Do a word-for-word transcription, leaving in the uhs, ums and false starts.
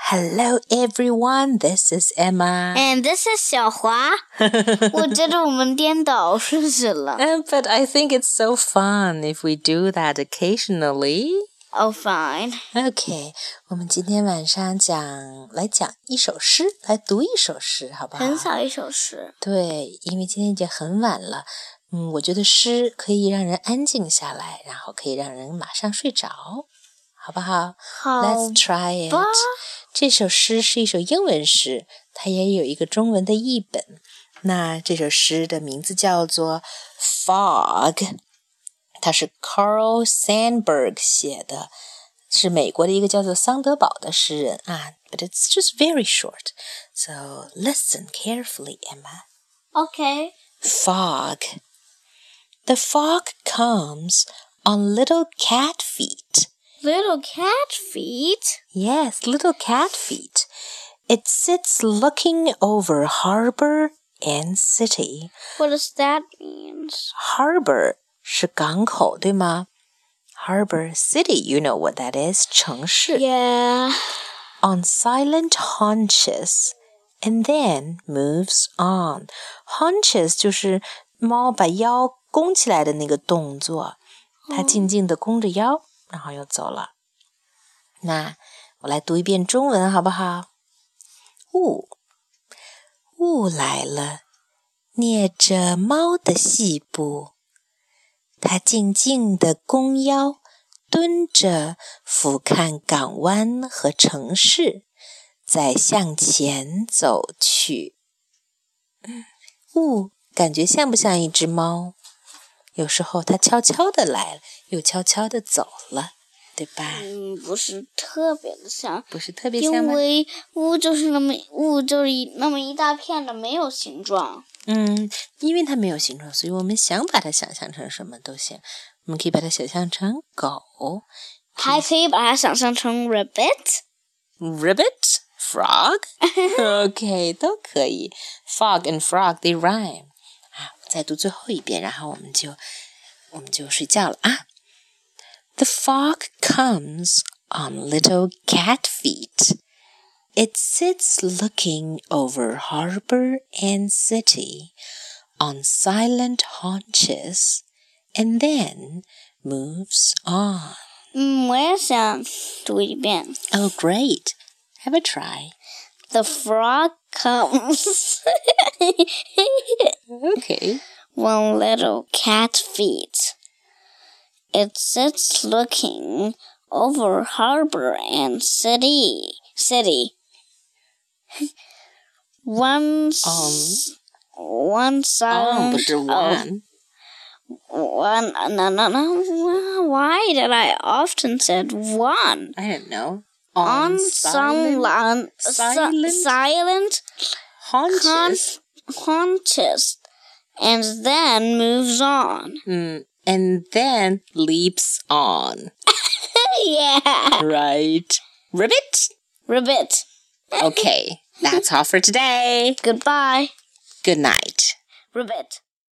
Hello everyone, this is Emma. And this is 小华。我觉得我们颠倒顺序了。 But I think it's so fun if we do that occasionally. Oh, fine. Okay, 我们今天晚上讲来讲一首诗，来读一首诗，好不好？ 很小一首诗。 对，因为今天已经很晚了。嗯，我觉得诗可以让人安静下来，然后可以让人马上睡着，好不好？ 好吧。 Let's try it. 这首诗是一首英文诗，它也有一个中文的译本。那这首诗的名字叫做 Fog， 它是 Carl Sandburg 写的，是美国的一个叫做桑德堡的诗人啊。But it's just very short, so listen carefully, Emma. Okay. Fog. The fog comes on little cat feet. Little cat feet? Yes, little cat feet. It sits looking over harbor and city. What does that mean? Harbor 是港口，对吗？ Harbor city, you know what that is, 城市。 Yeah. On silent haunches, and then moves on. Haunches 就是猫把腰弓起来的那个动作，它静静地弓着腰。然后又走了。那我来读一遍中文好不好？雾，雾来了，捏着猫的细部，它静静地弓腰，蹲着俯瞰港湾和城市，再向前走去。雾感觉像不像一只猫？有时候它悄悄地来了，又悄悄地走了，对吧？ 嗯，不是特别的像， 不是特别像吗？ 因为雾就是那么雾就是一那么一大片的，没有形状。 嗯，因为它没有形状，所以我们想把它想象成什么都行。我们可以把它想象成狗， 还可以把它想象成 rabbit、rabbit frog。OK， 都可以。Fog and frog they rhyme。啊，我再读最后一遍，然后我们就我们就睡觉了啊。The fog comes on little cat feet. It sits looking over harbor and city on silent haunches, and then moves on. 嗯，我也想读一遍。 Oh, great. Have a try. The frog comes. Okay. One little cat feet. It sits looking over harbor and city. City. One, Um, one silent. 不是 one. One. No, no, no. Why did I often said one? I don't know. On, On some silent, silent, silent silent haunches. haunches, and then moves on. Mm, and then leaps on. Yeah. Right. Ribbit? Ribbit. Okay, that's all for today. Goodbye. Good night. Ribbit.